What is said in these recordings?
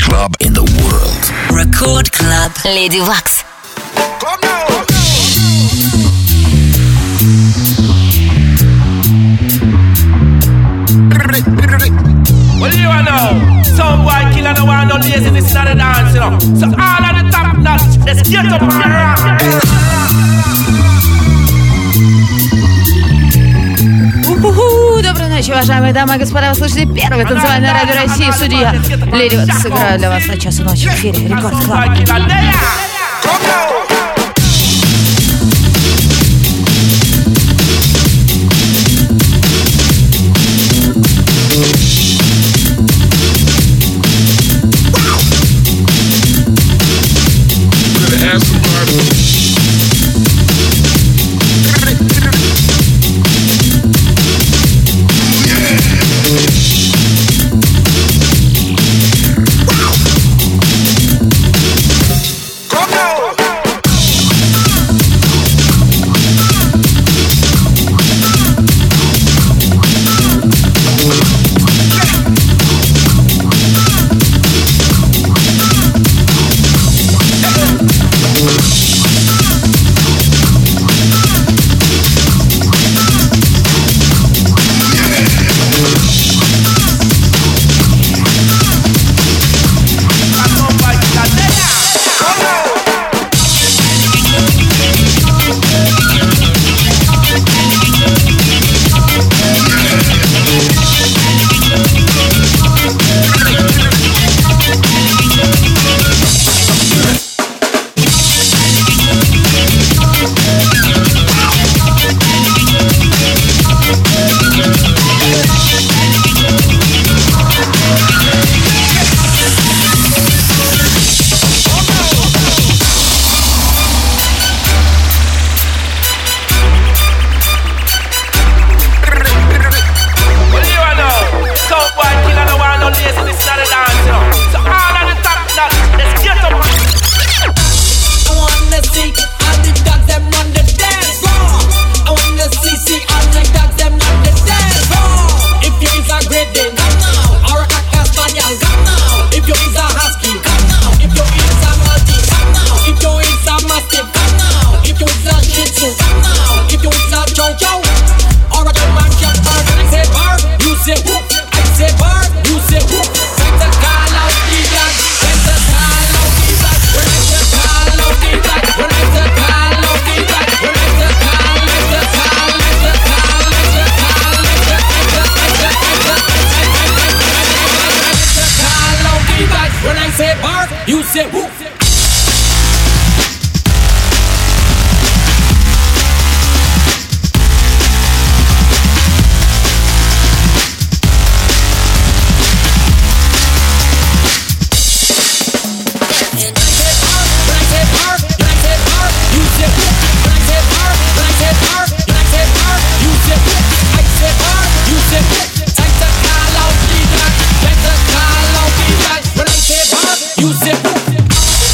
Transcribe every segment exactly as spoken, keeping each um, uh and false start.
club in the world. Record Club. Lady Wax. Come now. Well, you know, some boy killer no one no laziness in the dance, you know. So all of the top notch, let's get up and rock. У-ху-ху! Доброй ночи, уважаемые дамы и господа. Вы слышите первое танцевальное радио России. Студия Леди Вакс. Сыграю для вас на час ночи в эфире Рекорд Клаб. You say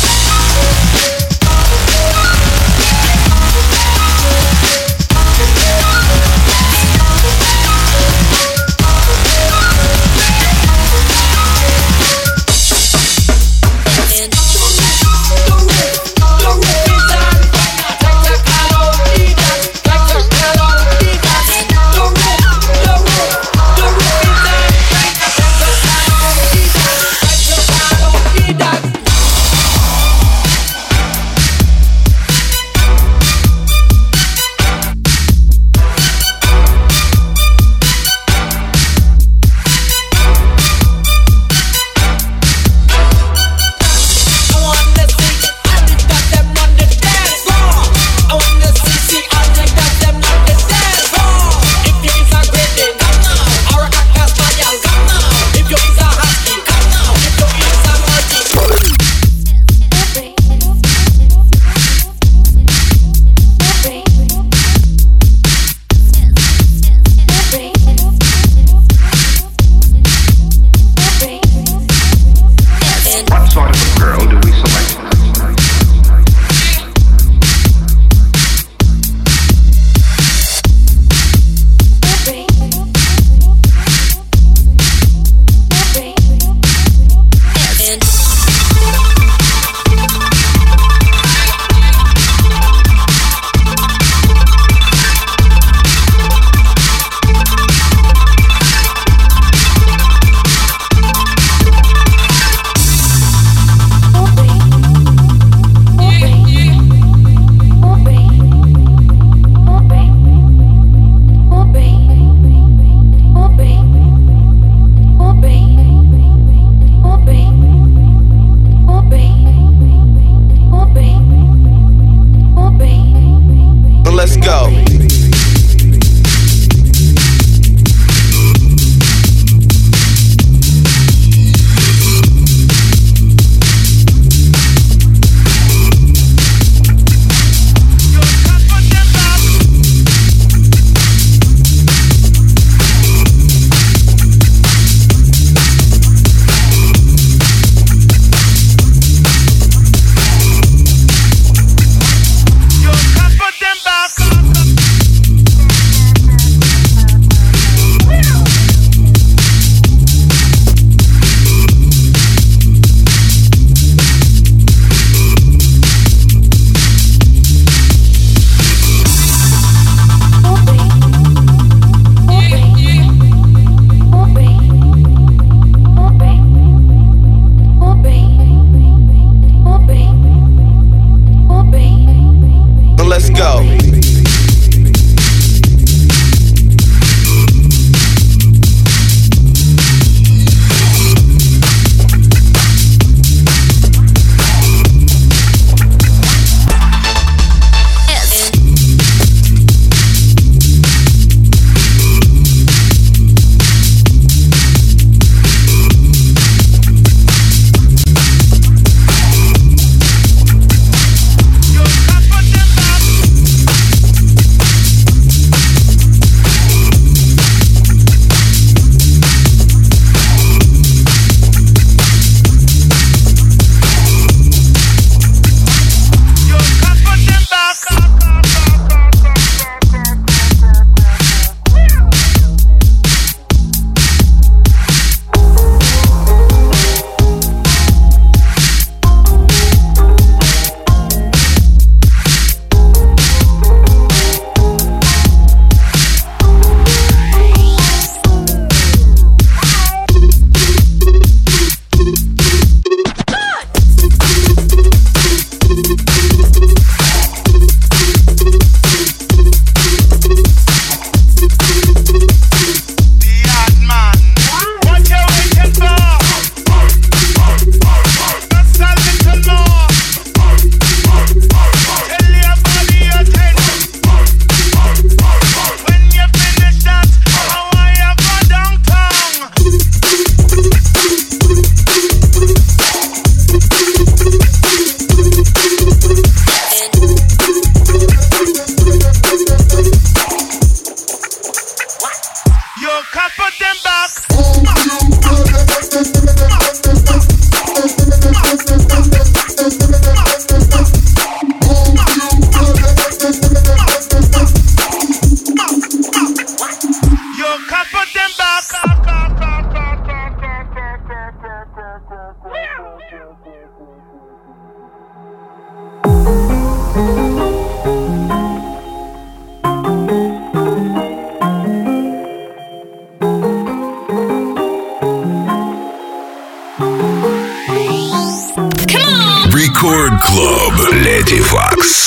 Record Club. Леди Вакс.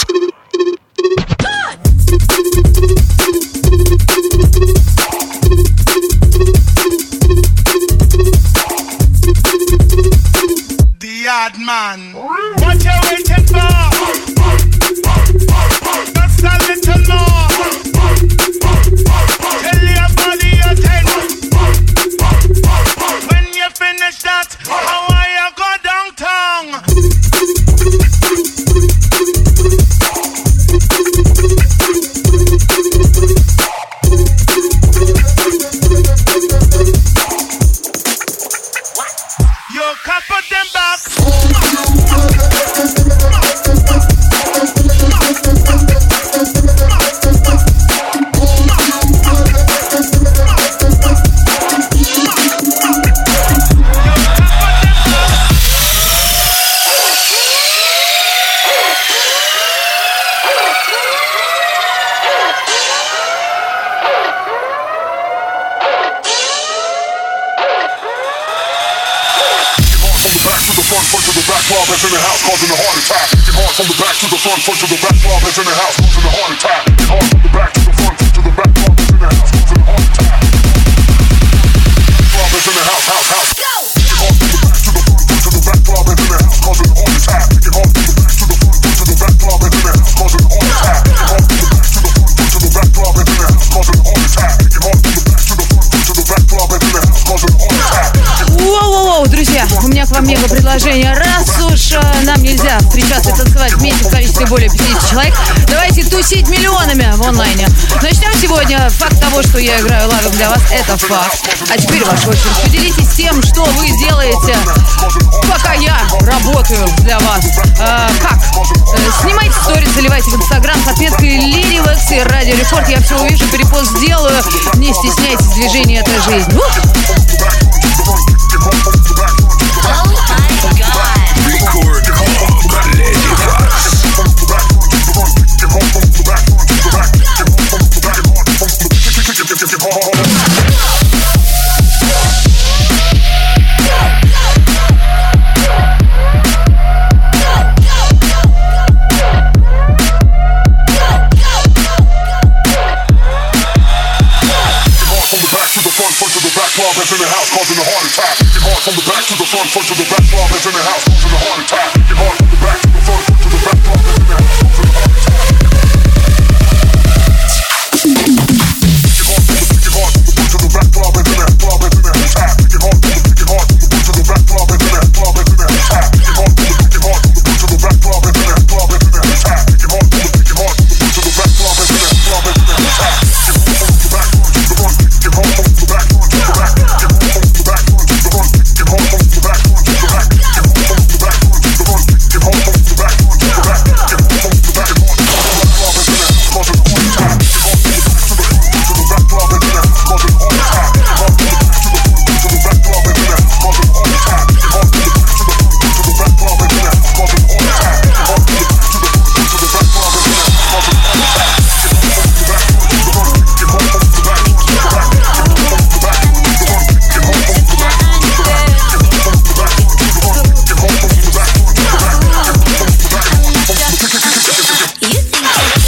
The odd man. What you waiting for? Just a little more. Tell your body you're ten. When you finish that, how are you go downtown? You couple them back. Club in the house causing a heart attack. Get hard from the back to the front, front to the back. Club in the house causing a heart attack. Get hard from the back to the front, front to the back. Club in the house causing a heart attack. Club in the house, house, house. Go. Get hard from the back to the front, front to the back. Club in the house causing a heart attack. Get hard from the back to the front, front to the back. Club in the house causing a heart attack. Get hard from the back to the front, front to the back. Club in the house causing a heart attack. Get hard from the back to the front, front to the back. Club in the house causing a heart attack. Воу-воу-воу, друзья, у меня к вам мега предложение. Раз уж э, нам нельзя встречаться и танцевать вместе в количестве более пятидесяти человек, давайте тусить миллионами в онлайне. Начнем сегодня. Факт того, что я играю лавик для вас, это факт. А теперь ваша очередь. Поделитесь тем, что вы делаете, пока я работаю для вас. Э, как? Э, снимайте сторис, заливайте в Инстаграм с отметкой Леди Вакс и Радио Рекорд. Я все увижу, перепост сделаю. Не стесняйтесь, движение — это жизнь. Ух! Record Club. Леди Вакс. Club is in the house causing a heart attack. Get hard from the back to the front, front to the back. Club is in the house causing a heart attack. Get hard from the back to the front, front to the back. Club is in the house causing a heart attack. Get hard from the get hard from the front to the back. Club is in the club is in the attack. Get hard from the get hard from the front to the back. Club is in the club is in the attack. Get hard from the get hard from the front to the back. Club is in the club is in the attack. Get hard from the get hard from the front to the back. Club is in the club is in the attack. Get hard from the back to the front. Get hard from the back to the back. Get hard from the back to the front. Get hard from the back to the back. Get hard from the back to the front. Get hard from the back to the back. Get hard from the back to the back. Club is in the causing a heart attack. Get hard from the back to the front to the back. Club is in the causing a heart attack. Get hard from the back to the front to the back. Club is in the causing a heart attack. Get hard from the back to the front to the back. Club is in the causing a heart attack. Get hard from the back to the front to the back. Club is in the causing a heart attack. Get hard from the back to the front. Get hard from the back to the back. Get hard from the back to the front. Get hard from the back to the back. Get hard from the back to the front. Get hard from the back to the back. Get hard from the back to the back. You think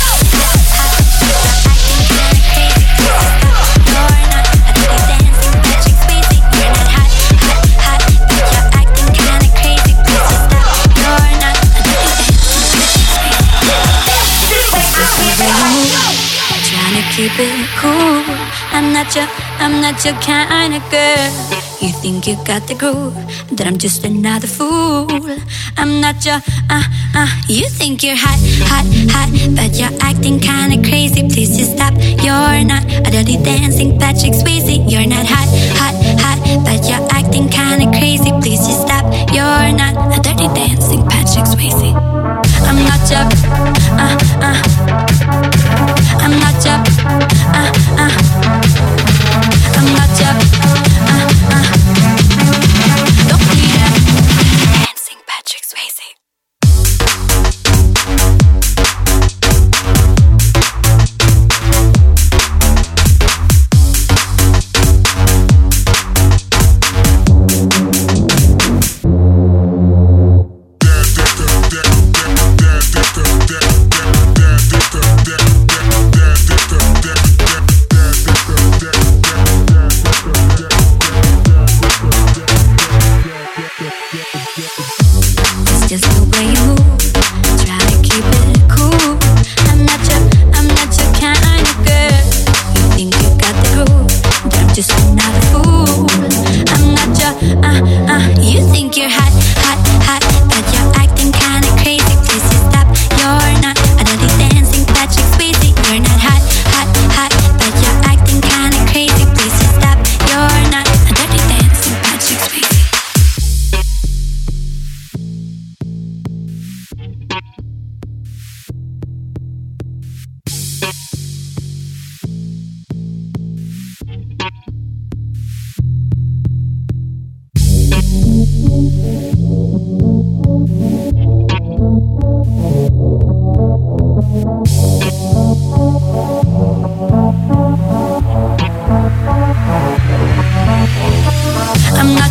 keep it cool. I'm not your, I'm not your kind of girl. You think you got the groove, that I'm just another fool. I'm not your, uh, uh. You think you're hot, hot, hot, but you're acting kinda crazy. Please just stop. You're not a dirty dancing Patrick Swayze. You're not hot, hot, hot, but you're acting kinda crazy. Please just stop. You're not a dirty dancing Patrick Swayze. I'm not your, uh, uh. I'm not your, uh, uh. I'm not your, uh, uh. Don't be that dancing Patrick Swayze.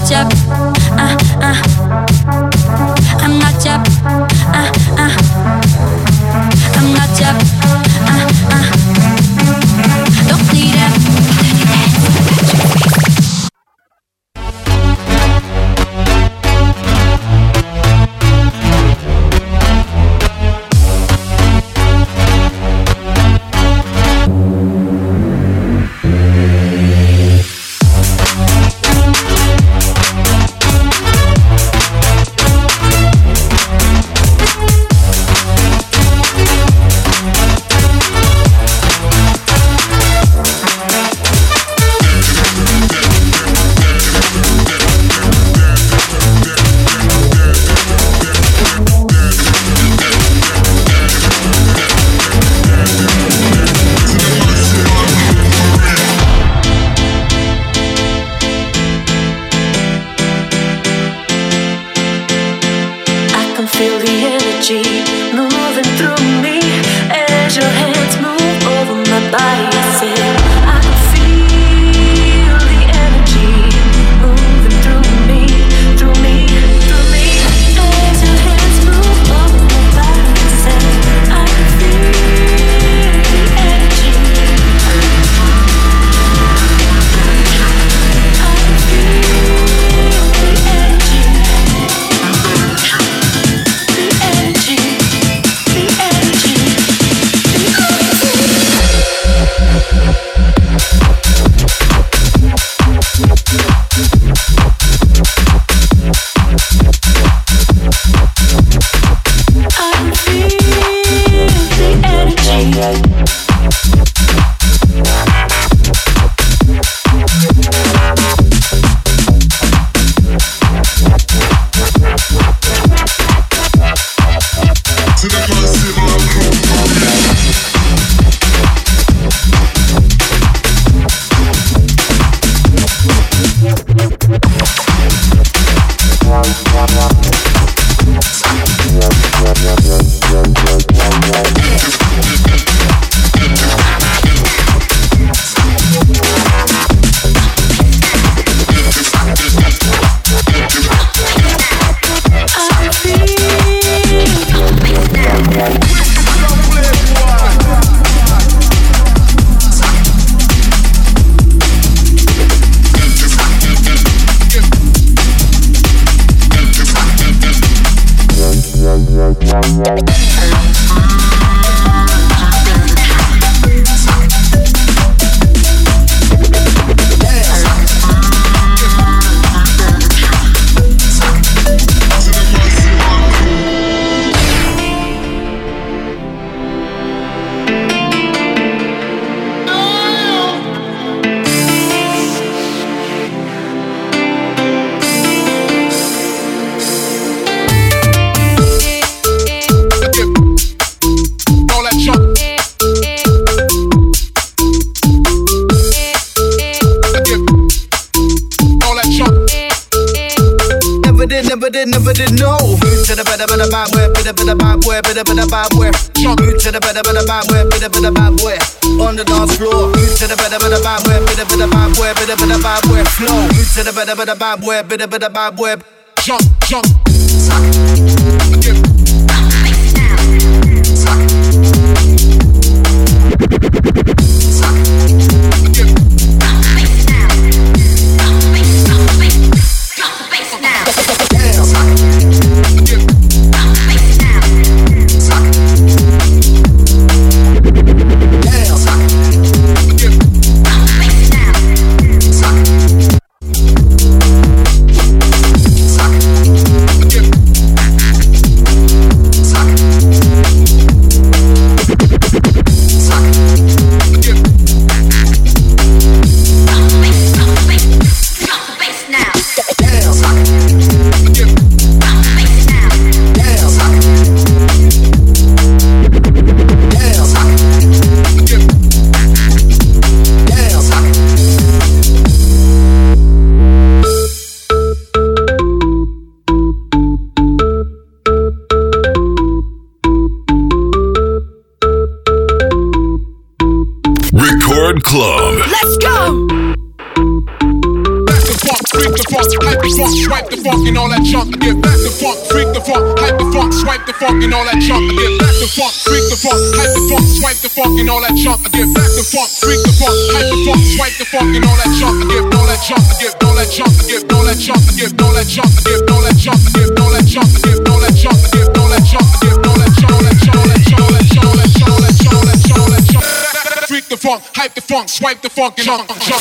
your, uh, uh. I'm not your, uh, uh. I'm not your, uh, uh. Don't need it. Never did, never did, no. Move to the better, better, bad way, better, better, bad way, better, better, bad way. Move to the better, better, bad way, better, better, bad way. On the dance floor. Move to the better, better, bad way, better, better, bad way, better, better, bad way. Flow. Move to the better, better, bad way, better, better, bad way. Jump, jump. Club. Let's go! Back to box. freak the funk, hype the funk, swipe the funk and all that junk. I get back to funk, freak the funk, hype the funk, swipe the funk and all that junk. I get back to funk, freak the funk, hype the funk, swipe the funk and all that junk. I get back to funk, freak the funk, hype the funk, swipe the funk and all that junk. I get all that junk, I get all that junk, I get all that junk, I get all that junk, I get all that junk, I get all that junk, I get all that junk, I get all that junk, I get all that junk, all that junk, all that junk, all that junk, all that junk, all that junk, all that junk, all that junk. Freak the funk, hype the funk, swipe the funk and junk, junk.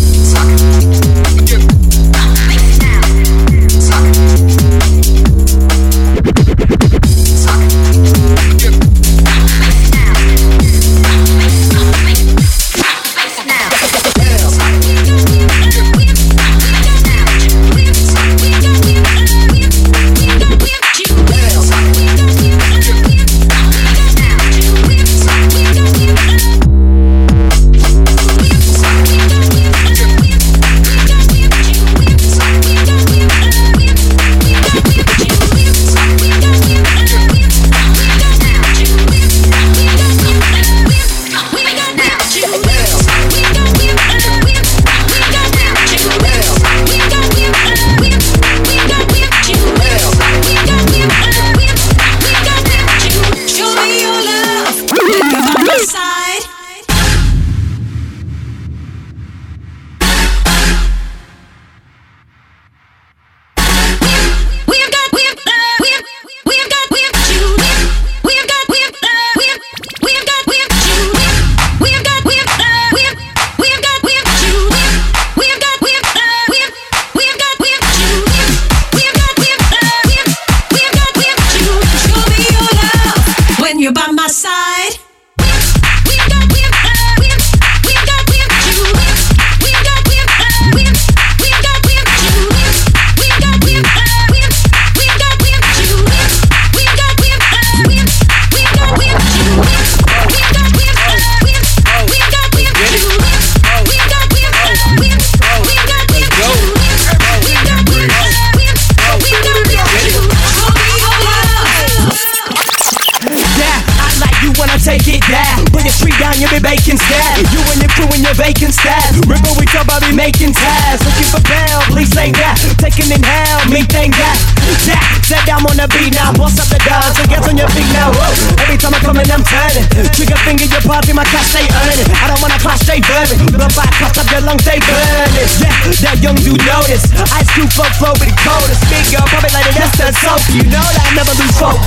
Making ties, looking for bail, please say that. Taking inhale, me think that. Yeah, said I'm on the beat now, boss up the dogs and get on your feet now. Whoa. Every time I come in, I'm turning. Trigger finger, your party, my cash, they earning. I don't wanna clash, they burning. Blood back, clutch up your lungs, they burning. Yeah, that young dude notice. Ice cube, fuck, flow with the coldest. Big girl, pop it like a that's the soap. You know that I never lose focus.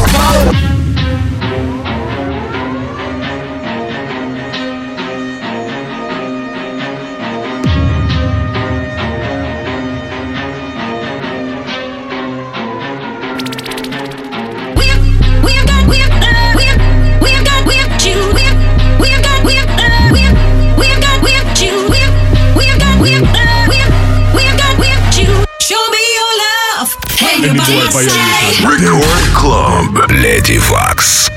Record Club Lady Fox.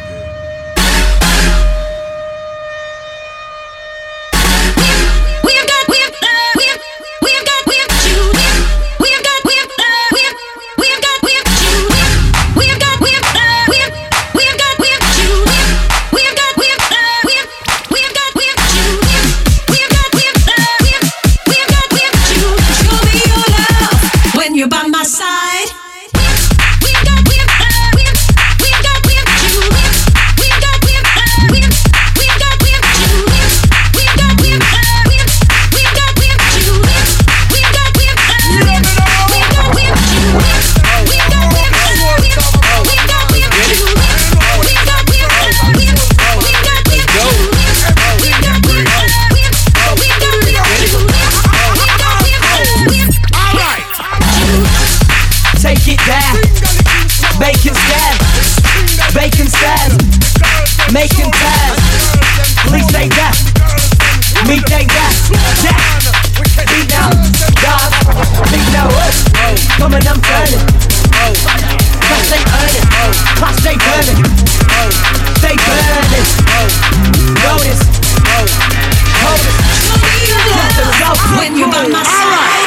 Making ties, please say that. Me think that. Yeah, beat down, dog. Beat down, coming, I'm turning. Class they earning, class they burning. They burning. Notice, hold it. When you're by my side.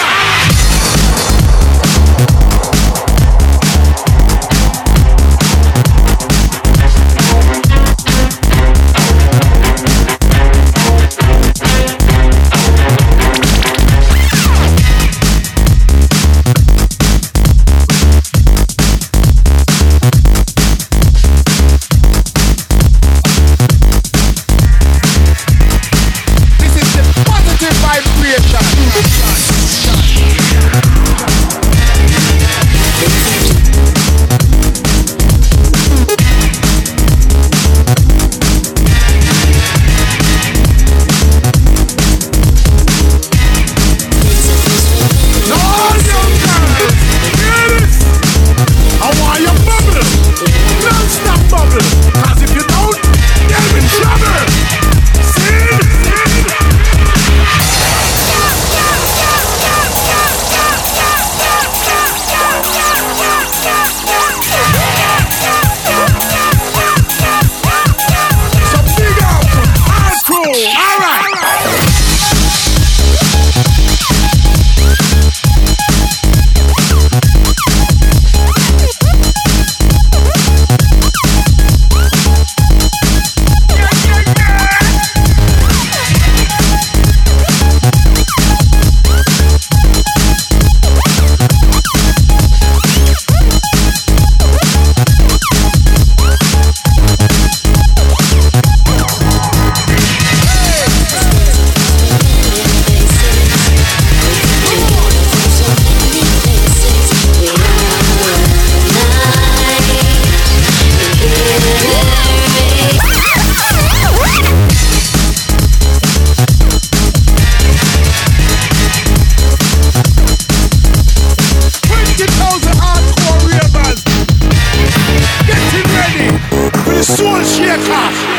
the hardcore ravers. Getting ready for the soul shaker.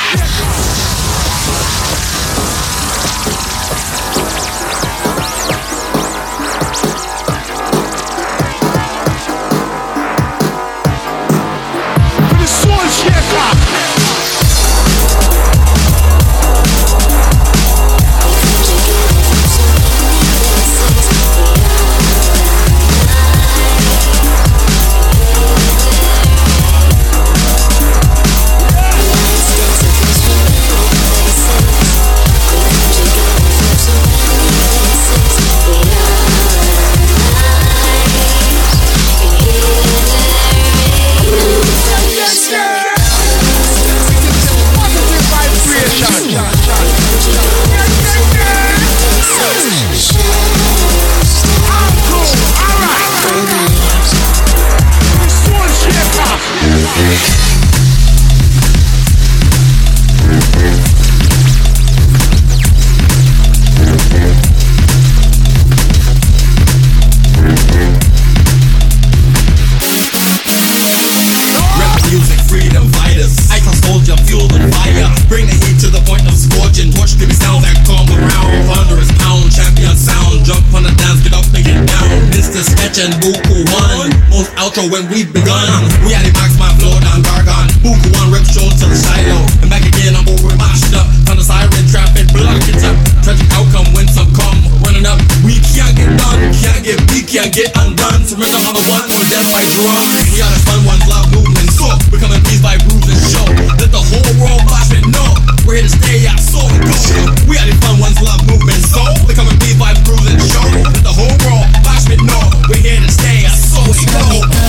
And Buku one, most outro when we've begun. We had it max my flow down Gargon. Buku one rip show to the silo. And back again, I'm over mashed up. Found a siren traffic, block it up. Tragic outcome when some come running up. We can't get done, can't get beat, can't get undone. Surrender on the one or death by drum. We are the fun ones, loud movement. So we're coming pleased by bruise and show. Let the whole world watch it know. We're here to stay, yeah, so we go. We are the fun ones, love movement. So we're coming pleased by bruise and show. Let the whole world watch it know. We're here to stay, yeah, so we go.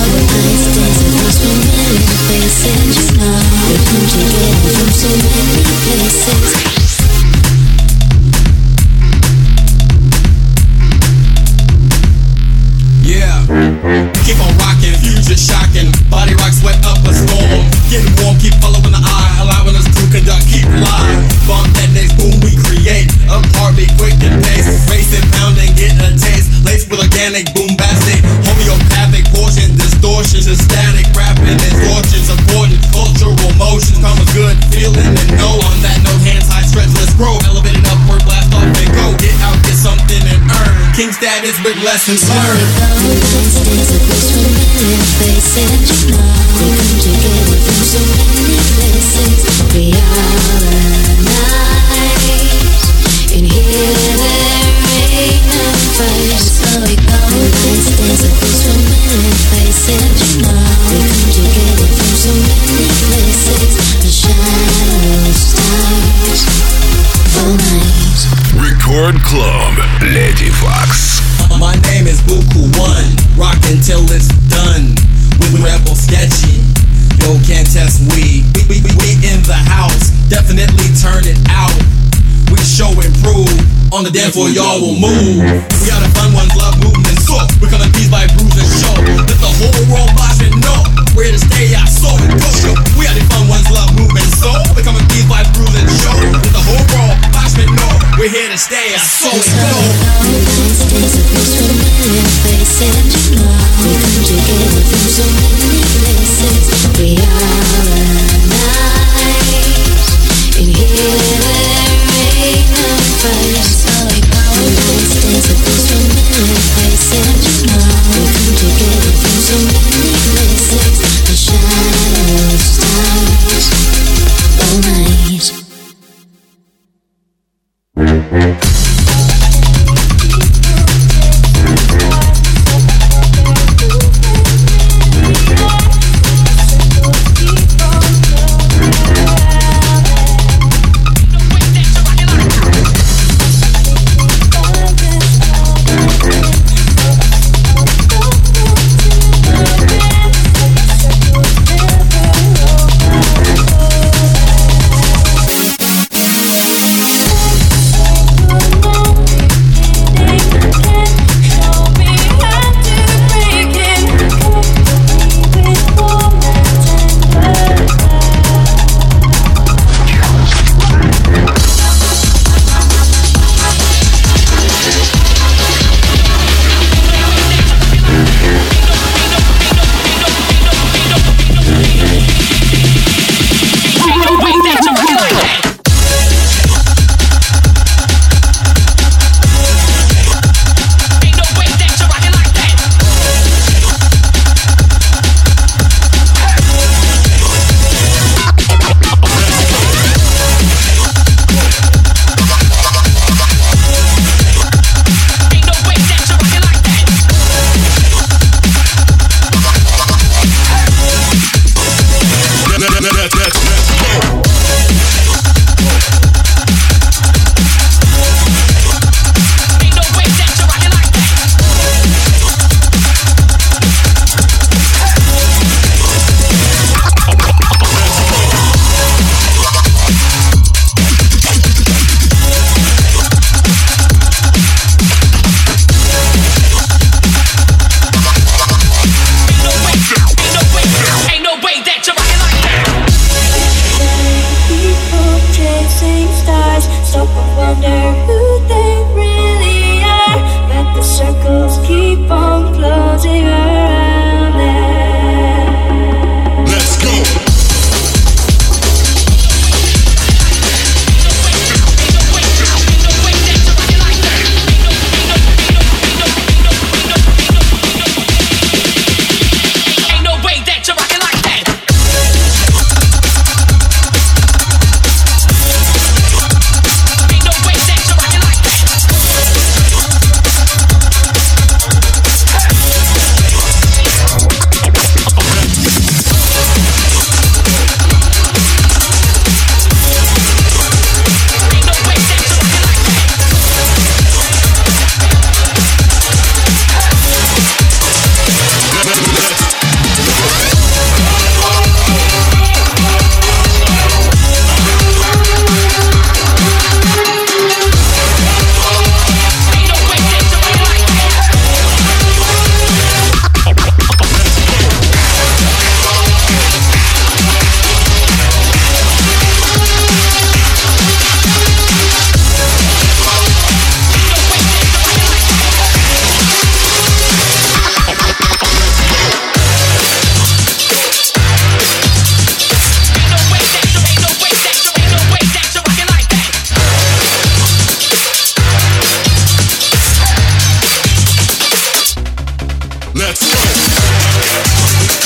Yeah, keep on rocking, future shocking. Body rock, sweat up a storm. Getting warm, keep following the eye, allowing us to conduct, keep live. Bump that next boom we create. Up heartbeat, quick and pace. Racing, pounding, get a taste. Laced with organic, bombastic, homeopathic portion, distortions, and static rapping and torture, supporting cultural motions. Come a good feeling and know. On that note, hands high, stretch, let's grow. Elevated upward, blast off and go. Get out, get something and earn. King status with lessons learned. We are alive. In here there ain't no fight. So we go place, days of this from many places. You know we come together from so many places. The shadow stars all night. Record Club, Lady Fox. My name is Buku one, rockin' till it's done. With Rebel Sketchy, yo can't test we. We, we, we, we in the house, definitely turn it out. We show improve, on the dance floor y'all will move. We are the fun ones, love movement, so we're coming peace by bruise and show. Let the whole world watch and know, we're here to stay, yeah, so it go. We are the fun ones, love movement, so we're coming peace by bruise and show. Let the whole world watch and know, we're here to stay, yeah, so it go. We are alive. In here there ain't no fight. So we go. This days of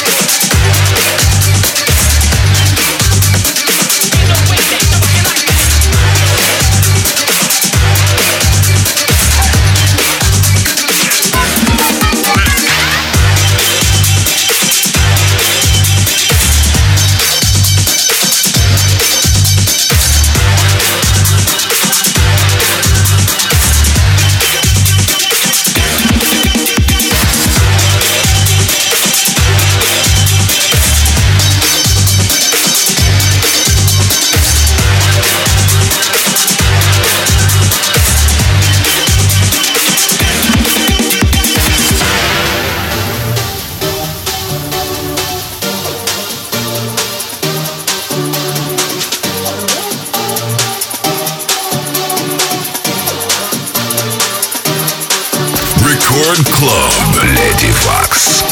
Рекорд Клуб Леди Факс.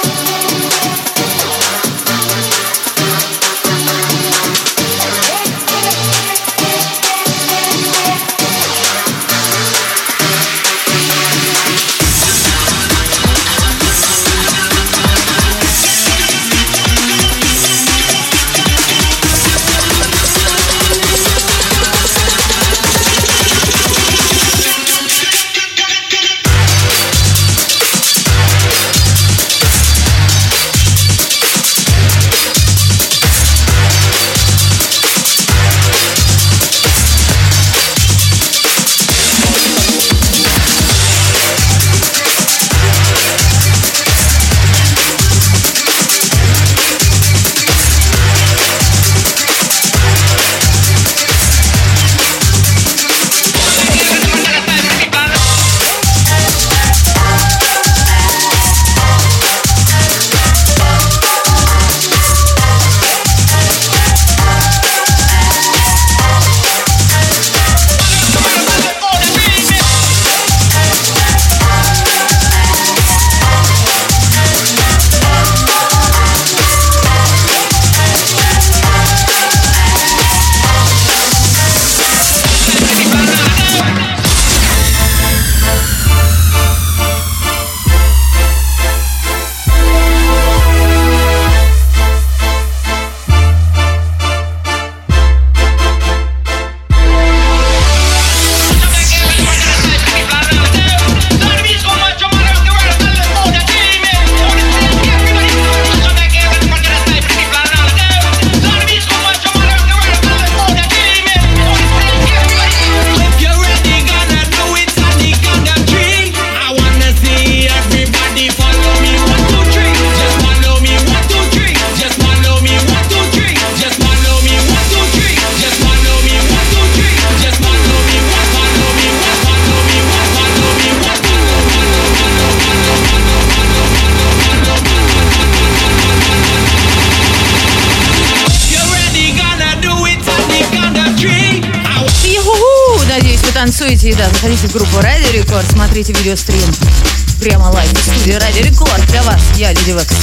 Танцуете, и да, заходите в группу Радио Рекорд, смотрите видеострим прямо лайв в студии Радио Рекорд для вас. Я Леди Вакс.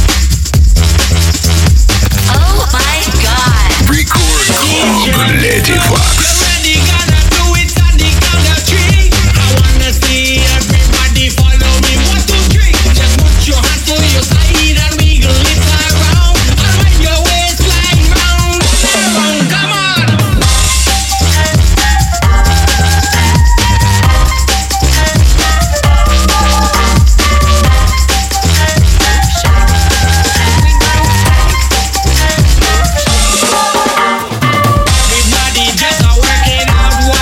Oh my God. Рекорд Клуб Леди Факс. Just a working out.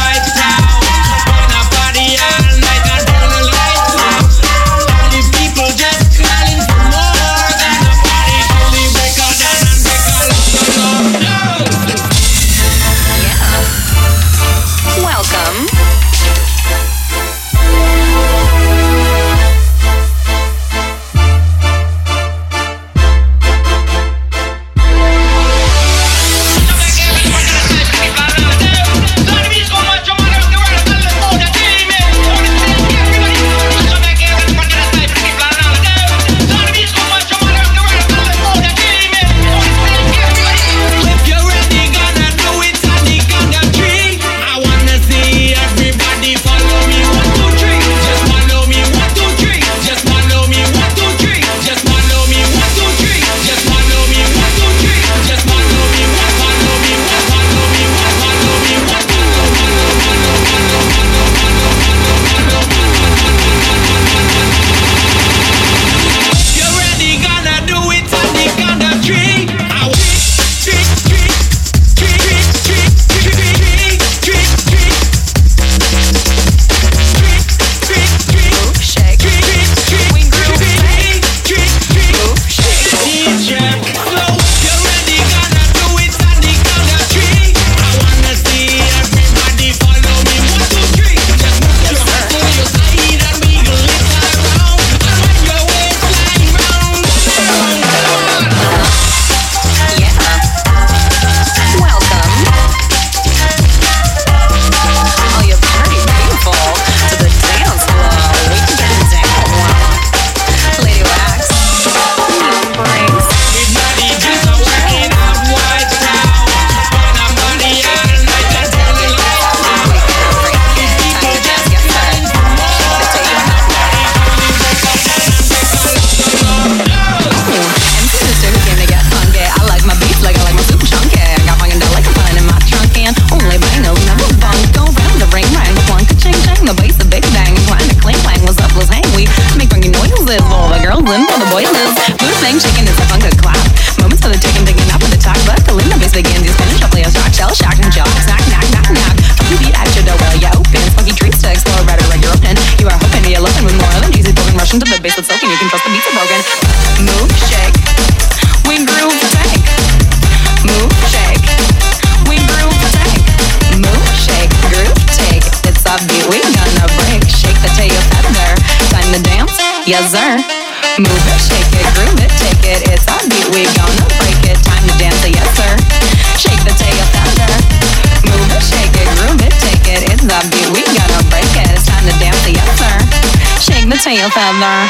the boys is. Mood thing shaking, it's a fun good clap. Moments for the taking, digging up with the talk. But the limb bass begins, you spinning shuffle, your shock, shell shock and jaw. Snack, knock, knock, knock. Funky beat at your door, well, you open. Funky trees to explore, better like you're open. You are hoping, you're looking with more than easy broken. Rushing to the bass that's soaking, you can trust the beats are broken. Move, shake, we groove, tank. Move, shake, we groove, tank. Move, shake, groove, take. It's a beat, we gonna break. Shake the tail feather. Time to dance, yes sir. Move it, shake it, groove it, take it. It's a beat, we gonna break it. Time to dance, yes sir. Shake the tail feather. Move it, shake it, groove it, take it. It's a beat, we gonna break it. It's time to dance, yes sir. Shake the tail feather.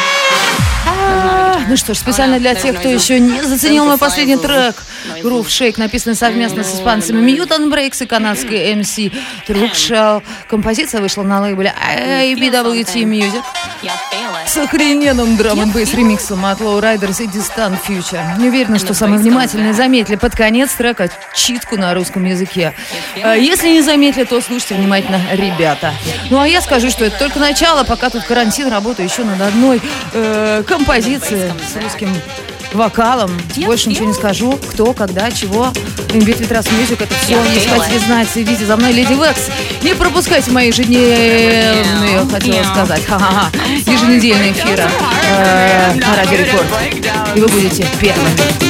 Ну что ж, специально для тех, кто еще не заценил мой последний трек Groove Shake, написанный совместно с испанцами Mutant Breaks и канадской эм си Truckshell. Композиция вышла на лейбле эй би дабл ю ти Music с охрененным драм-н-бейс ремиксом от Lowriders и Distant Future. Не уверена, что самые внимательные заметили под конец трека читку на русском языке. Если не заметили, то слушайте внимательно, ребята. Ну а я скажу, что это только начало, пока тут карантин, работаю еще над одной э, композицией с русским вокалом. Больше ничего не скажу. Кто, когда, чего. Бит Витрас Мьюзик, это все. Если хотите знать, следите за мной, Леди Векс. Не пропускайте мои ежедневные, хотела сказать, ха-ха-ха, еженедельные эфиры э, на Радио Рекорд. И вы будете первыми.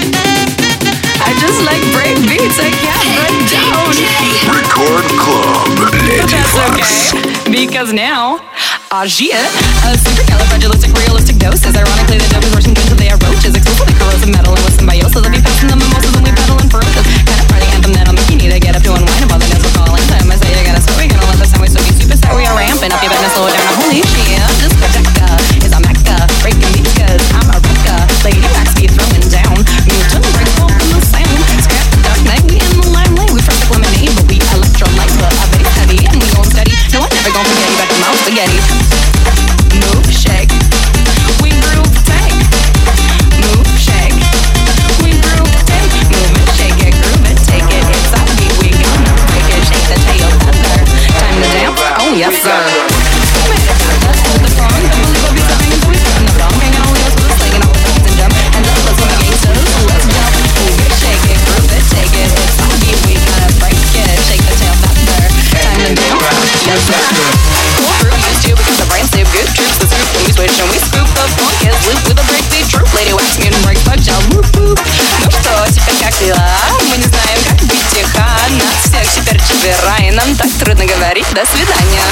I just like break beats, I can't break down. Record Club, Lady That's Fox. okay, because now, ah shit, a supercalifragilistic realistic doses. Ironically, the dope is rushing into the roaches, exclusively corrosive metal and with symbiosis. I'll be passing the mimosas and we pedal and ferocious. Kind of party anthem that'll make you need to get up to unwind about the dance we're calling time. I say you gotta sweat, we gonna let the sound we so be super set. We are ramping up, you better slow it down. Holy shit, this Rebecca is a mecca, breaking beats 'cause I'm a wrecka. Lady Wax be throwing down, mutant breaks from the sound. Scrap the dark night, we in the limelight. We fresh like lemonade, but we electrolyte, but a bass heavy and we gon' steady. No, I'm never gon' forget you, back to mouth spaghetti. Move, shake, we groove, take. Move, shake, we groove, take. Move it, shake it, groove it, take it. It's a beat, we gonna break it. Shake the tail feather. Time to dance, oh yes sir. Let's hold the song, don't believe what we saying. So we spin the wrong, hang out with us, we're slinging all the things and jump. And then let's go to gangsters, so let's jump. Move it, shake it, groove it, take it. It's a beat, we gonna break it. Shake the tail feather. Time to dance, yes sir. Cool crew used to because the brain sleep good troops. The scoop when we switch and we scoop the funk is loop with a breakbeat troop. Lady Wax, mutant breaks, bug gel, whoop whoop. Ну что, теперь как дела? Мы не знаем, как быть тихо. Нас всех теперь четверо, и нам так трудно говорить. До свидания.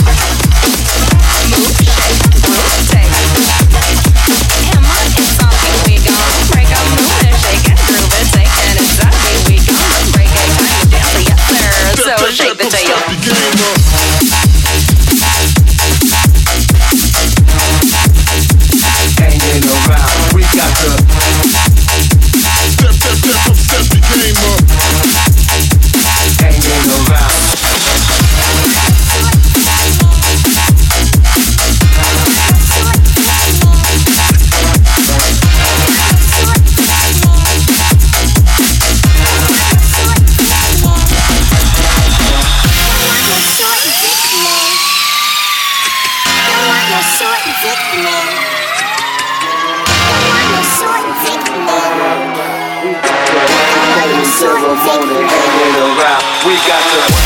Move, shake, groove, take. Come on, it's something we gon' break up. Move it, shake it, groove it, take. And it's something we gon' break it. Time to dance, yes sir. So shake the tail. Hanging around, we got to step, step, step, step the game up. Hanging around. We got to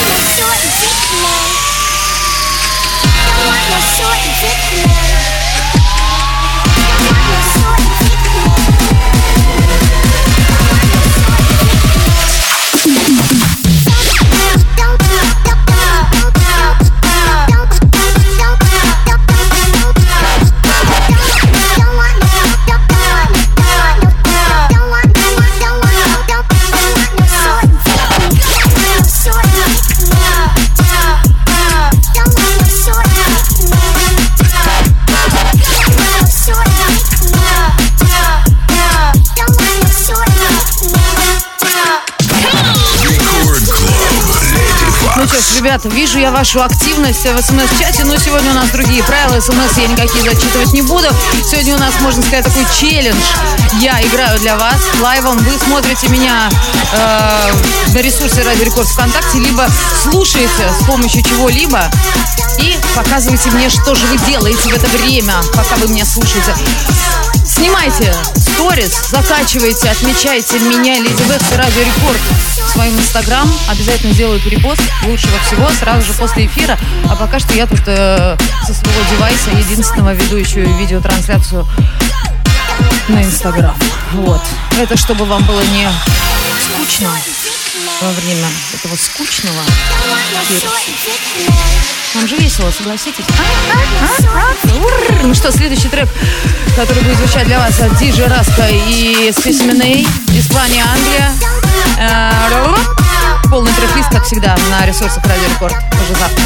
Ребята, вижу я вашу активность в смс-чате, но сегодня у нас другие правила. СМС я никакие зачитывать не буду. Сегодня у нас, можно сказать, такой челлендж. Я играю для вас лайвом. Вы смотрите меня э, на ресурсе Радио Рекорд ВКонтакте, либо слушаете с помощью чего-либо и показываете мне, что же вы делаете в это время, пока вы меня слушаете. Снимайте сторис, закачивайте, отмечайте меня, Леди Бэкс и Радио Рекорд в своем инстаграм. Обязательно делаю перепост лучшего всего сразу же после эфира. А пока что я тут э, со своего девайса единственного веду еще и видеотрансляцию на инстаграм. Вот. Это чтобы вам было не скучно во время этого скучного эфира. Вам же весело, согласитесь? А? А? А? Ну что, следующий трек, который будет звучать для вас от Ди Джей Раска и Specimen A, Испания, Англия. Э-э- полный трек-лист, как всегда, на ресурсах Радио Рекорд. Уже завтра.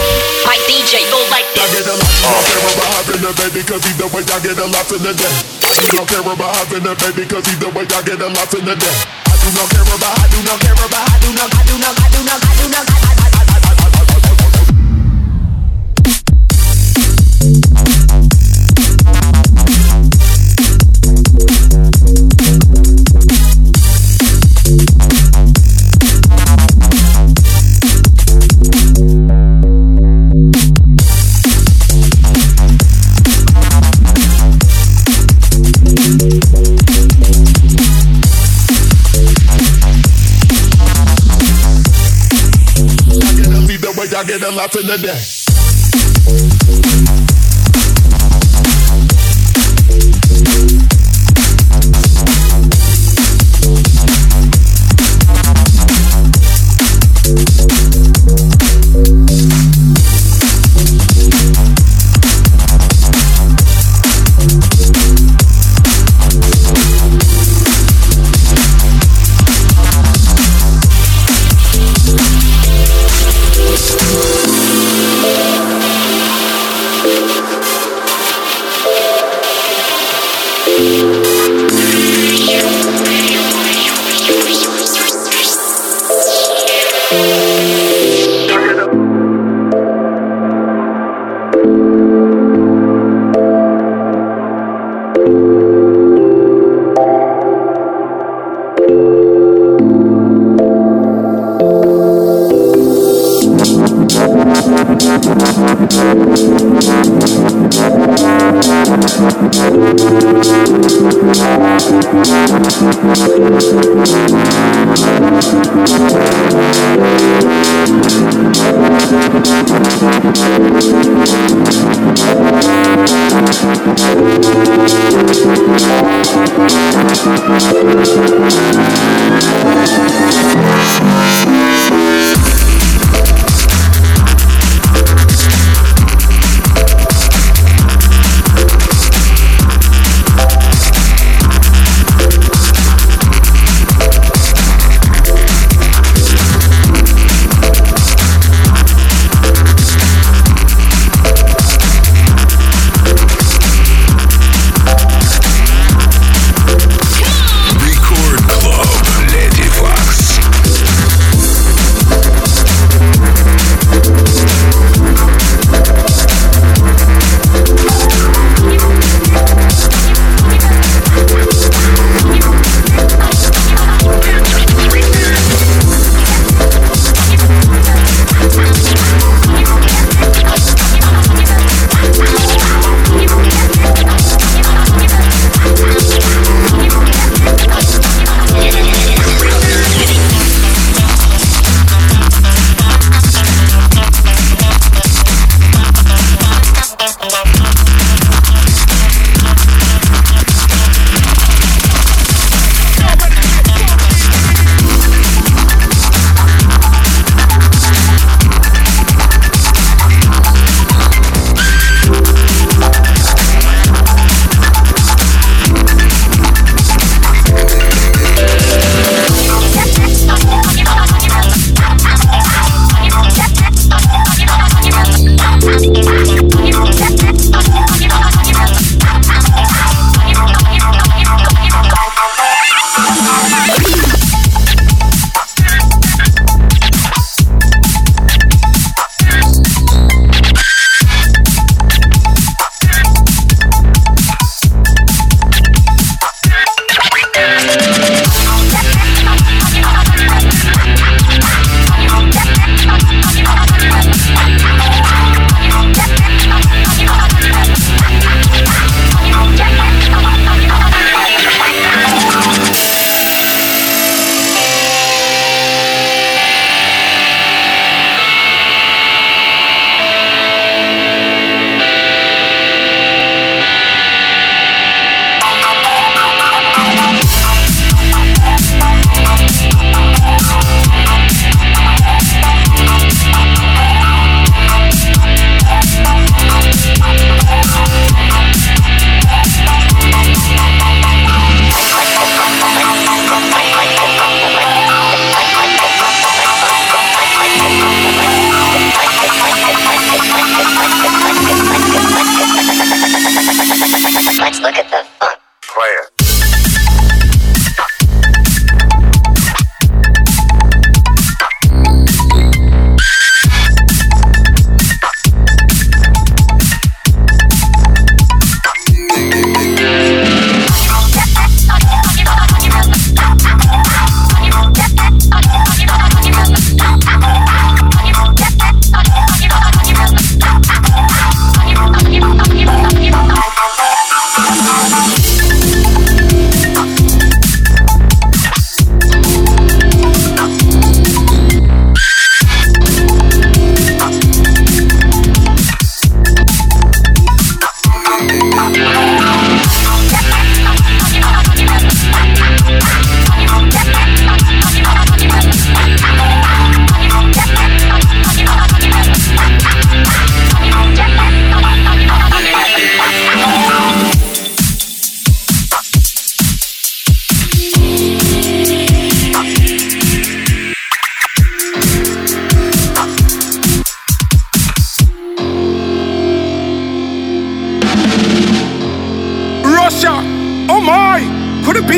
Baby, cause either way I get a lot in the day. do not care about having a baby, cause either way I get a lot in the day. I do not care about, I do not care about, I do not, I do not, I do not, I do not, I, I, I, I, I, I, I, I, I, I get a lot in the day. Record Club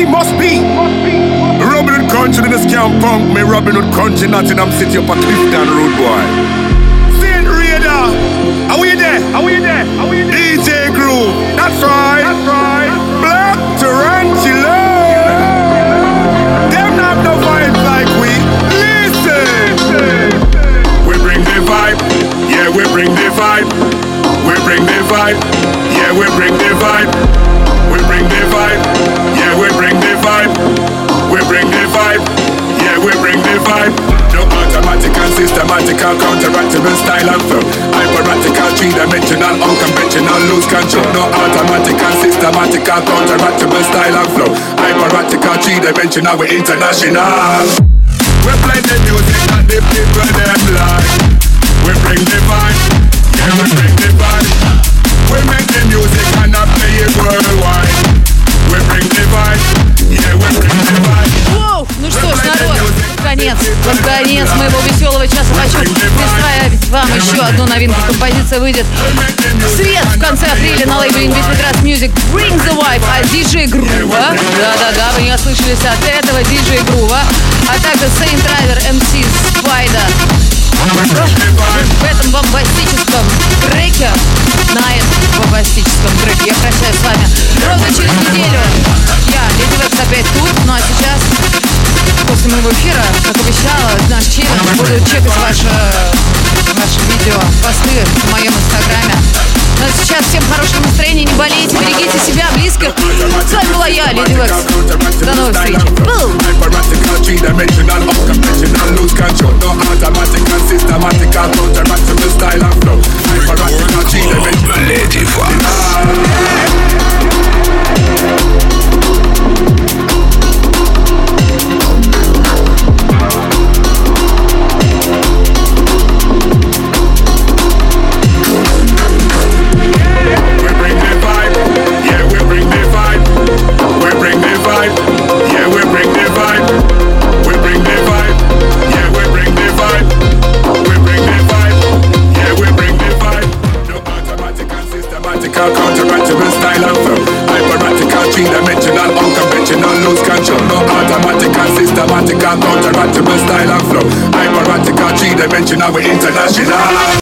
be, must be. Robin Hood country in the scam punk. Me Robin Hood country, Nottingham City up a Clifton Road, boy. Saint Raider, are we there? Are we there? Are we there? D J Groove, that's right. That's right. Black Tarantula. Them not no vibes like we. Listen. We bring the vibe. Yeah, we bring the vibe. We bring the vibe. Yeah, we bring the vibe. We bring the vibe. Yeah, we bring the vibe. We bring the vibe. Yeah, we bring the vibe. No automatic and systematical, counteractable style and flow. Hyperactical, three-dimensional, unconventional, lose control. No automatic and systematical, counteractable style and flow. Hyperactical, three-dimensional, we're international. We play the music that the people them like. We bring the vibe. Yeah, we bring the vibe. We make the music and I play it worldwide. We bring the vibe. Yeah, we bring the vibe. Воу! Ну что ж, народ, конец, под конец моего веселого часа хочу представить вам еще одну новинку. Композиция выйдет в свет в конце апреля на лейбле Invictus Grass Music. Bring the Vibe от диджей Грува. Да-да-да, вы не ослышались от этого диджей Грува. А также Saint Driver эм си Spider. В этом бомбастическом треке, на этом бомбастическом треке я прощаюсь с вами ровно через неделю. Я, Леди Векс, опять тут, ну а сейчас, после моего эфира, как обещала, наш челлендж, буду чекать ваши, ваши видео, посты в моем инстаграме. Ну а сейчас всем хорошего настроения, не болейте, берегите себя, близких. С вами была я, Леди Векс. До новых встреч. Systematical, counteractable style and flow. Hyperactical, three-dimensional, Lady we bring the vibe. Yeah, we bring the vibe. We bring the vibe. Yeah, we bring the vibe. We bring the vibe. Yeah, we bring the vibe. We bring the vibe. Yeah, we bring the vibe. No automatic and systematical, counteractable style and flow. Hyperactical, three-dimensional, unconventional, lose control. No automatic and systematical, counteractable style and flow. Hyperactical, three-dimensional, we're international.